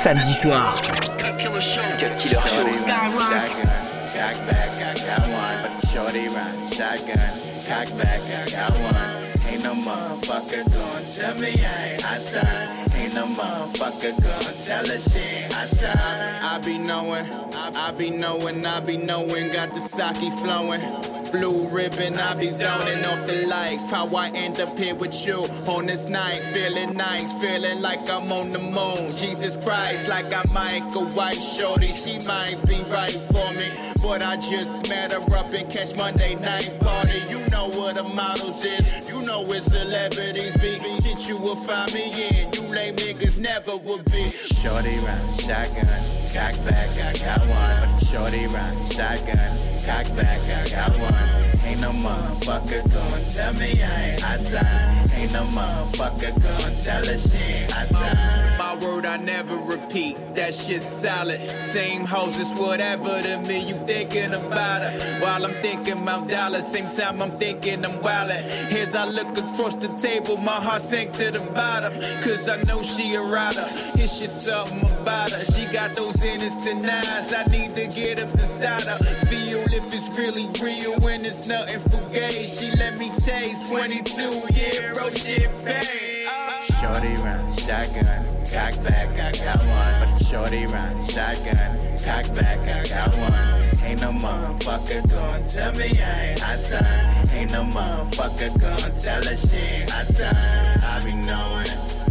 samedi soir. Cut Killer Show. Skyrock. Cock back, I got one. Shorty run, shotgun. Cock back, I got one. Ain't no motherfucker gon' tell me I ain't outside. Ain't no motherfucker gon' tell her she ain't outside. I be knowing, got the sake flowing. Blue ribbon, I be zoning off the life. How I end up here with you on this night. Feeling nice, feeling like I'm on the moon. Jesus Christ, like I might go white shorty. She might be right for me, but I just met her up and catch Monday night party. You know what the models is, you know it's celebrities be. Shit you will find me in, you lame niggas never would be. Shorty run, shotgun, cock back, I got one. Shorty run, shotgun, cock back, I got one. Ain't no motherfucker gon' tell me I ain't outside. Ain't no motherfucker gon' tell her she ain't outside. My word I never repeat, that shit's solid. Same hoes, it's whatever to me, you thinking about her. While I'm thinking about dollars, same time I'm thinking I'm wildin'. As I look across the table, my heart sank to the bottom. Cause I know she a rider, it's just something about her. She got those innocent eyes, I need to get up beside her. Feel if it's really real when it's nothing fugazi. She let me taste 22-year-old champagne. Shorty run, shotgun, cock back, I got one. Shorty run, shotgun, cock back, I got one. Ain't no motherfucker gon' tell me I ain't outside. Ain't no motherfucker gon' tell her she ain't outside. I be knowing.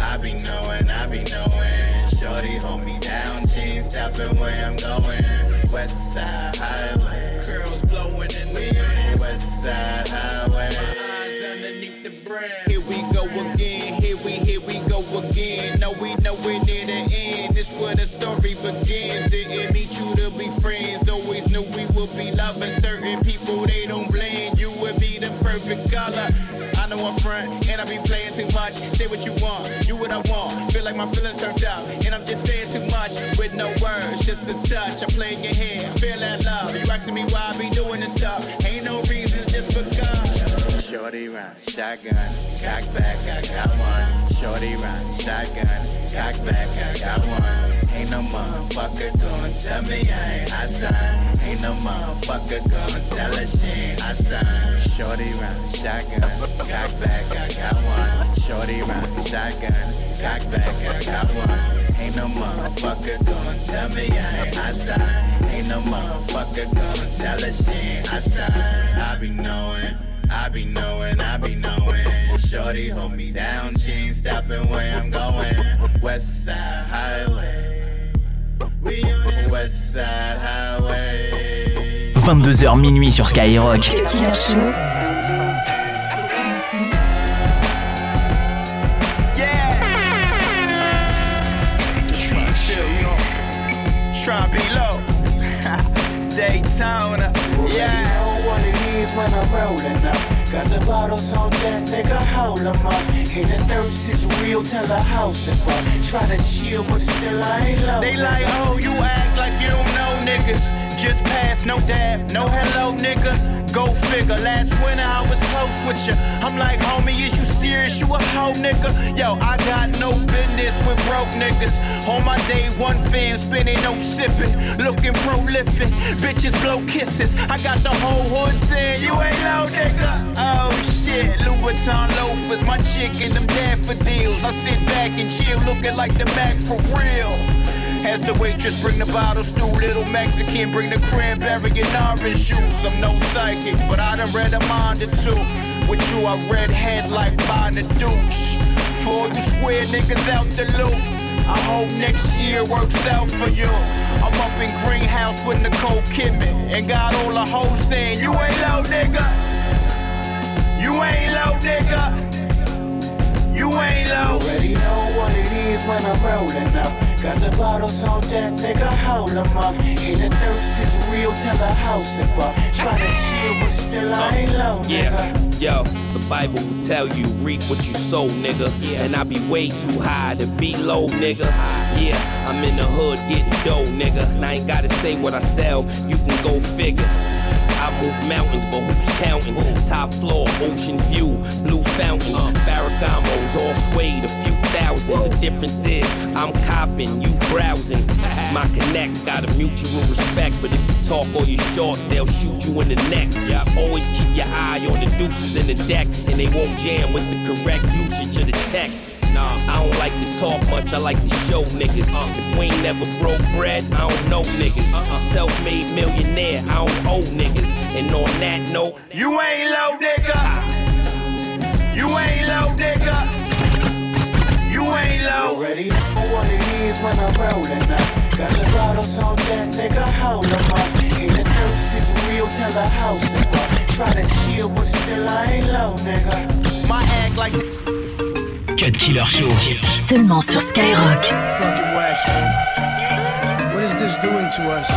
Shorty hold me down, she ain't stopping where I'm going. West Side Highway, curls blowing in the wind. West Side Highway, my eyes underneath the brim. Here we go again, here we go again. No, we know we're near the end. This where the story begins. Didn't meet you to be friends. Always knew we would be loving certain people. They don't blend. You would be the perfect color. I know I'm front, and I be playing too much. Say what you want, do what I want. Feel like my feelings turned out, and I'm just saying too much with no words, just a touch. I'm playing your hand, feel that love. You asking me why I be doing this stuff? Ain't no reasons, just because. Shorty run, shotgun, cock back, I got one. Shorty run, shotgun, cock back, I got one. Ain't no motherfucker gon' tell me I ain't outside. Ain't no motherfucker gon' tell her she ain't outside. Shorty run, shotgun, cock back, I got one. Shorty run, shotgun, cock back, I got one. Ain't no motherfucker gon' tell me I ain't outside. Ain't no motherfucker gon' tell her she ain't outside. I be knowing. Shorty hold me down, she ain't stopping where I'm going. West Side Highway, we on West Side Highway. 22h minuit sur Skyrock. Killer Show. Try to be low. Daytona, yeah. You know what it is when I'm rolling up. Got the bottles on deck, nigga, hold 'em up. And the thirst is real, tell the house about. Try to chill, but still I ain't low. They like, oh, you act like you don't know niggas. Just pass, no dab, no hello, nigga. Go figure, last winter I was close with you. I'm like, homie, is you serious? You a hoe, nigga? Yo, I got no business with broke niggas. On my day one fam, spinning, no sipping. Looking prolific, bitches blow kisses. I got the whole hood saying, you ain't low, nigga. Oh shit, Louboutin loafers, my chick and them daffodils. I sit back and chill, looking like the Mac for real. As the waitress bring the bottles through, little Mexican bring the cranberry and orange juice. I'm no psychic, but I done read a mind or two. With you, I read head like buying a douche. For all you square niggas out the loop, I hope next year works out for you. I'm up in Greenhouse with Nicole Kidman and got all the hoes saying, you ain't low, nigga. You ain't low, nigga. You ain't low. Already know what it is when I'm rolling up. Got the bottles on deck, nigga, hold 'em up. And the thirst is real, tell the house about. Try to chill, but still I ain't low, nigga. Yo, the Bible will tell you, reap what you sow, nigga. And I be way too high to be low, nigga. Yeah, I'm in the hood getting dough, nigga. And I ain't gotta say what I sell, you can go figure. I move mountains, but who's counting? Top floor, ocean view, blue fountain. Ferragamo's all suede, a few thousand. The difference is, I'm copping, you browsing. My connect got a mutual respect, but if you talk or you short, they'll shoot you in the neck. Always keep your eye on the deuces in the deck, and they won't jam with the correct usage of the tech. Nah, I don't like to talk much, I like to show niggas. If we ain't never broke bread, I don't know niggas. Self-made millionaire, I don't owe niggas. And on that note, you ain't low, nigga. You ain't low, nigga. You ain't low. Already know what it is when I'm rolling up. Got the bottles on that, nigga, hold them up. And the dose is real, tell the house is up. Try to chill, but still I ain't low, nigga. My act like Cut Killer Show. C'est seulement sur Skyrock. Fucking wax, man. What is this doing to us?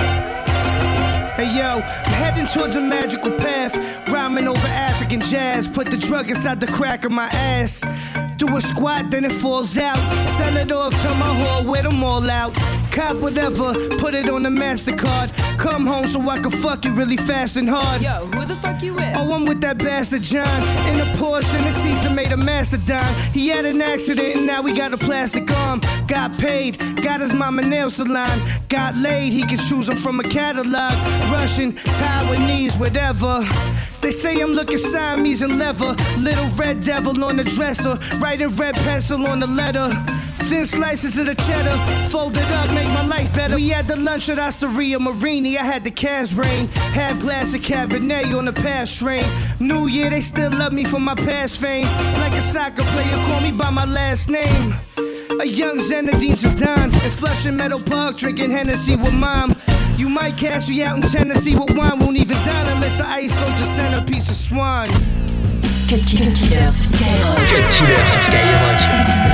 Hey yo, I'm heading towards a magical path. Rhyming over African jazz. Put the drug inside the crack of my ass. Do a squat, then it falls out. Sell it off to my whore with them all out. Cop whatever, put it on the MasterCard. Come home so I can fuck you really fast and hard. Yo, who the fuck you with? Oh, I'm with that bastard John. In a Porsche and the seats are made of mastodon. He had an accident and now we got a plastic arm. Got paid, got his mama nail salon. Got laid, he can choose them from a catalog. Russian, Taiwanese, whatever. They say I'm looking Siamese and leather. Little red devil on the dresser. Writing red pencil on the letter. Thin slices of the cheddar, folded up, make my life better. We had the lunch at Osteria Marini, I had the Cas rain. Half glass of Cabernet on the pass train. New Year, they still love me for my past fame. Like a soccer player, call me by my last name. A young Zinedine Zidane in Flushing Meadow Park, drinking Hennessy with mom. You might cash me out in Tennessee with wine, won't even dine unless the ice goes to centerpiece of swan. Cut Killer sur Skyrock. Cut Killer sur Skyrock.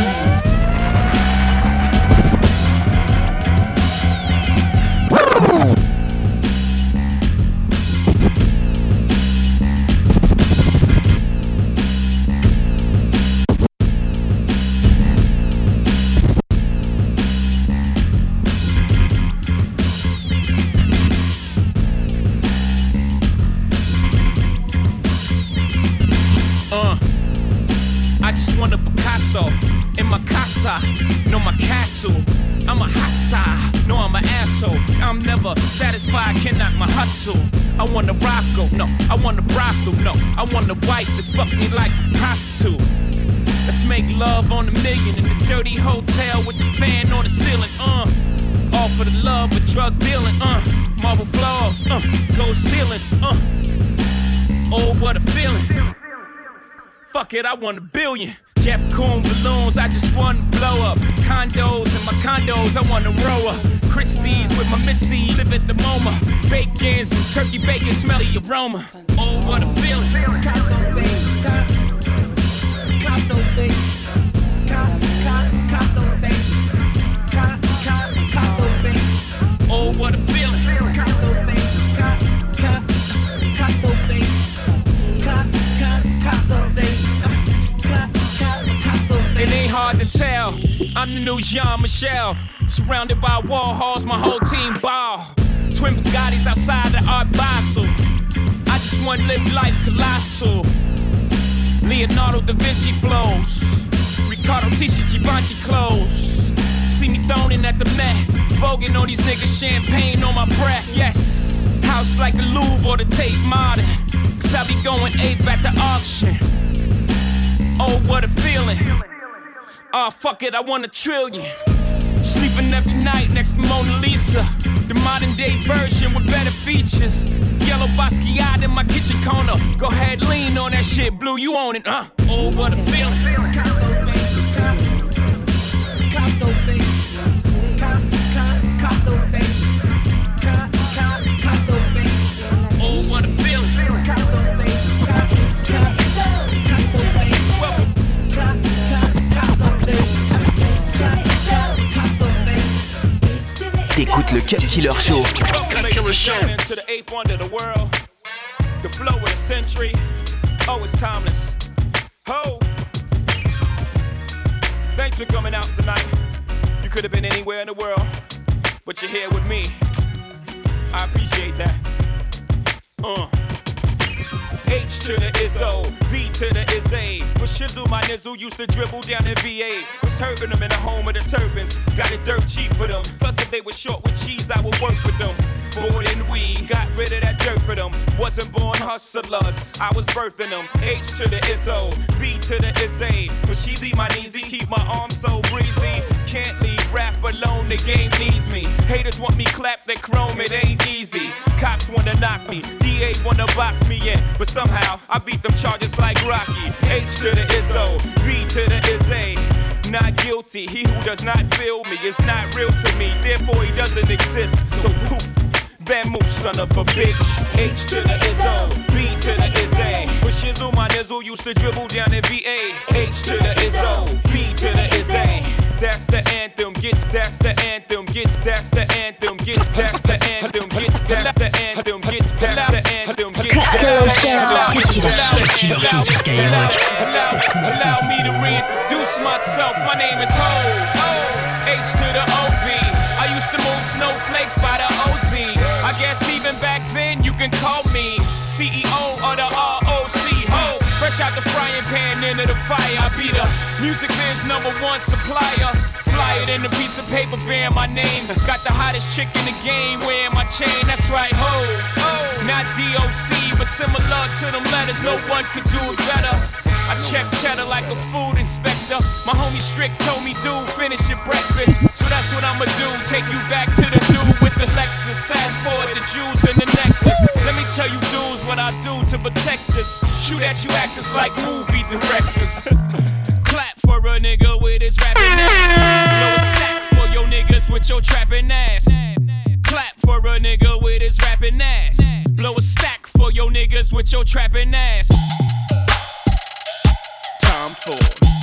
I just want a Picasso in my casa, no my castle. I'm a hassa, no I'm an asshole. I'm never satisfied, cannot my hustle. I want a Rocco, no, I want a brothel, no. I want a wife that fuck me like a prostitute. Let's make love on $1 million in the dirty hotel with the fan on the ceiling, all for the love of drug dealing, marble floors, gold ceiling, oh what a feeling. Fuck it, I want $1 billion. Jeff Koons balloons, I just want to blow up. Condos in my condos, I want to row up. Christie's with my missy, live at the MoMA. Bacons and turkey bacon, smelly aroma. Oh, what a feeling. Oh, what a feeling. It ain't hard to tell, I'm the new Jean-Michel. Surrounded by Warhols, my whole team ball. Twin Bugattis outside the Art Basel. I just want to live life colossal. Leonardo da Vinci flows. Riccardo Tisci Givenchy clothes. See me thrown in at the Met. Voguing on these niggas, champagne on my breath, yes. House like the Louvre or the Tate Modern. Cause I be going ape at the auction. Oh, what a feeling. Oh, fuck it, I want $1 trillion. Sleeping every night next to Mona Lisa. The modern day version with better features. Yellow Basquiat in my kitchen corner. Go ahead, lean on that shit, Blue, you own it, Oh, what a feeling. Oh, what a feeling. T'écoutes le Cut Killer Show. Cut Killer Show. To the eighth wonder of the world. The flow of the century. Oh, it's timeless. Ho! Thanks for coming out tonight. You could have been anywhere in the world, but you're here with me. I appreciate that. H to the Izzo, V to the Izzy. With Shizzle, my nizzle used to dribble down in VA. Was hurting them in the home of the turbans. Got it dirt cheap for them. Plus, if they were short with cheese, I would work with them. More than we got rid of that dirt for them. Wasn't born hustlers, I was birthing them. H to the Izzo, V to the Izzy. For Sheezy, my kneesy, keep my arms so breezy. Can't leave rap alone, the game needs me. Haters want me clap, they chrome, it ain't easy. Cops wanna knock me, DA wanna box me in. But somehow, I beat them charges like Rocky. H to the Izzo, V to the Izzy. Not guilty, he who does not feel me is not real to me. Therefore, he doesn't exist, so poof. Van Moose, son of a bitch. H to the Izzo, B to the Izzy. For Shizzle, my nizzle used to dribble down in VA. H to the Izzo, B to the Izzy. That's the anthem, that's the anthem, that's the anthem, that's the anthem, that's the anthem, that's the anthem, Allow me to reintroduce myself. My name is Ho. H to the OV. I used to move snowflakes by the OZ. I guess even back then you can call me CEO of the ROC. Ho, fresh out the frying pan into the fire. I be the music biz #1 supplier. Fly it in a piece of paper bearing my name. Got the hottest chick in the game wearing my chain. That's right, ho. Not DOC, but similar to them letters. No one could do it better. I check cheddar like a food inspector. My homie Strick told me, dude, finish your breakfast. So that's what I'ma do, take you back to the dude with the Lexus. Fast forward the jewels and the necklace. Let me tell you dudes what I do to protect us. Shoot at you actors like movie directors. Clap for a nigga with his rapping ass. Blow a stack for your niggas with your trapping ass. Clap for a nigga with his rapping ass. Blow a stack for your niggas with your trapping ass. Time for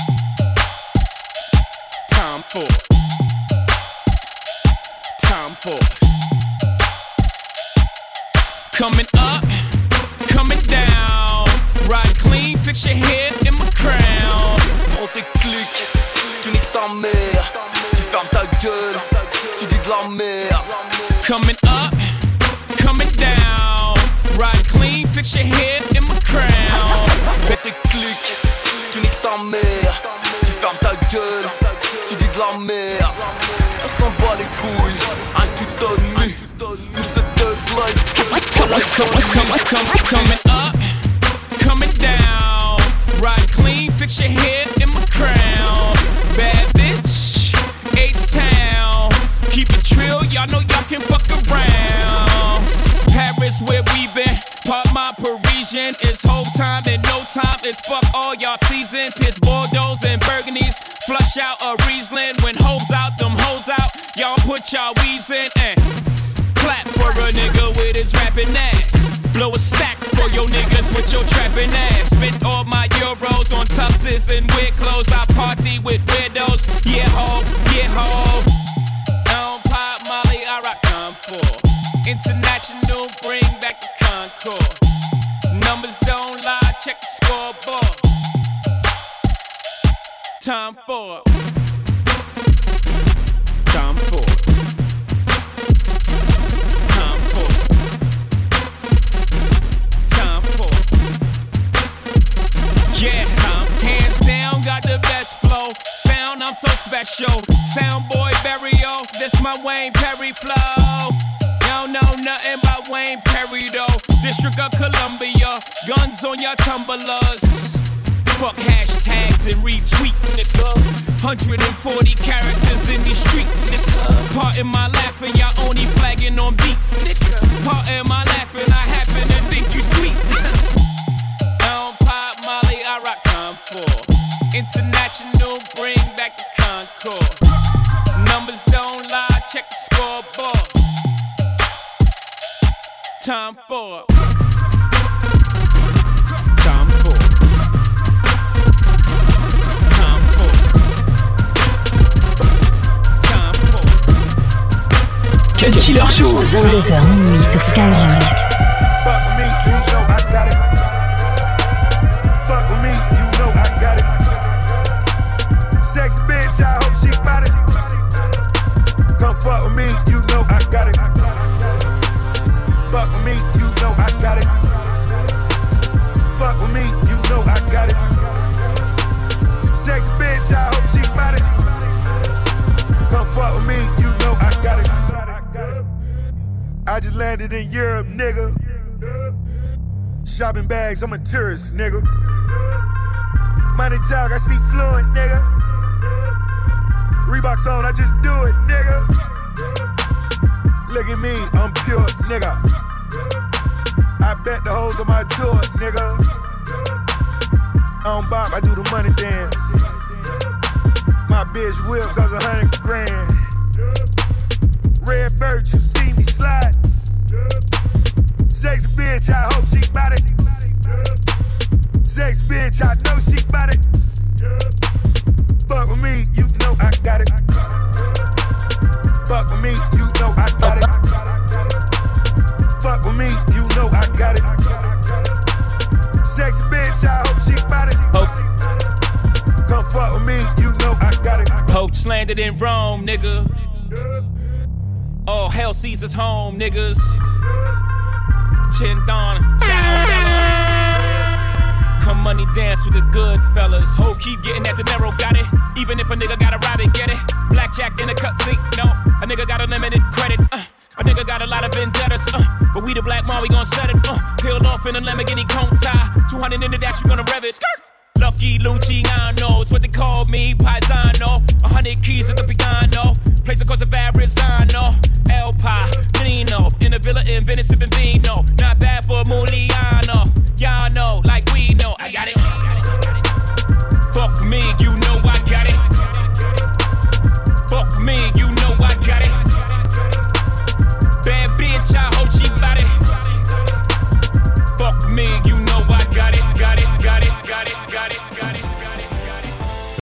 coming up, coming down. Ride clean, fix your hair in my crown. Prends tes clics, tu niques ta mère. Tu fermes ta gueule, tu dis de la merde. Coming up, coming down. Ride clean, fix your hair in my crown. Fais tes clics, tu niques ta mère. Tu fermes ta gueule, tu dis de la merde. On s'en bat les couilles, un tuto de nuit. Nous c'est thug life. Coming up, coming down. Ride clean, fix your hair in my crown. Bad bitch, H-Town. Keep it trill, y'all know y'all can fuck around. Paris where we been, part my Parisian. It's whole time and no time, it's fuck all y'all season. Piss Bordeaux and Burgundies, flush out a Riesling. When hoes out, them hoes out, y'all put y'all weaves in and clap for a nigga with his rapping ass. Blow a stack for your niggas with your trapping ass. Spent all my euros on tuxes and weird clothes. I party with weirdos. Yeah ho, yeah ho. I don't pop Molly, I rock time for international, bring back the Concord. Numbers don't lie, check the scoreboard. Time for yeah, hands down, got the best flow. Sound, I'm so special. Sound boy Barrio, this my Wayne Perry flow. Y'all know nothing about Wayne Perry though. District of Columbia, guns on your tumblers. Fuck hashtags and retweets, nigga. 140 characters in these streets, nigga. Pardon my laughing, y'all only flagging on beats, nigga. Pardon my laughing, I happen to think you sweet, nigga. I rock time for international, bring back the Concord. Numbers don't lie, check the scoreboard. Time for Cut Killer Show. 22h minuit sur Skyrock. Come fuck with me, you know I got it. Fuck with me, you know I got it. landed in Europe, nigga. Shopping bags, I'm a tourist, nigga. Money talk, I speak fluent, nigga. Reeboks on, I just do it, nigga. Look at me, I'm pure, nigga. I bet the hoes on my door, nigga. I don't bop, I do the money dance. My bitch whip goes 100 grand. Red bird, you see me slide. Sexy bitch, I hope she bout it. Sexy bitch, I know she bout it. Fuck with me, you know I got it. Fuck with me, you know I got it. Fuck with me, you know I got it. Sexy bitch, I hope she bout it. Come fuck with me, you know I got it. Poach landed in Rome, nigga. Oh, hell Caesar's home, niggas. Chin-Don, come money dance with the good fellas. Ho, keep getting that dinero, got it. Even if a nigga gotta rob it, get it. Blackjack in the cutscene, no. A nigga got unlimited credit, a nigga got a lot of vendettas, but we the black mom, we gon' set it, peeled off in a Lamborghini cone tie. 200 in the dash, you gonna rev it. Skirt. Lucky Luciano, it's what they call me, Paisano. 100 keys at the piano, place across the Verrazano. El Padrino, in a villa in Venice, sipping vino. Not bad for Muliano.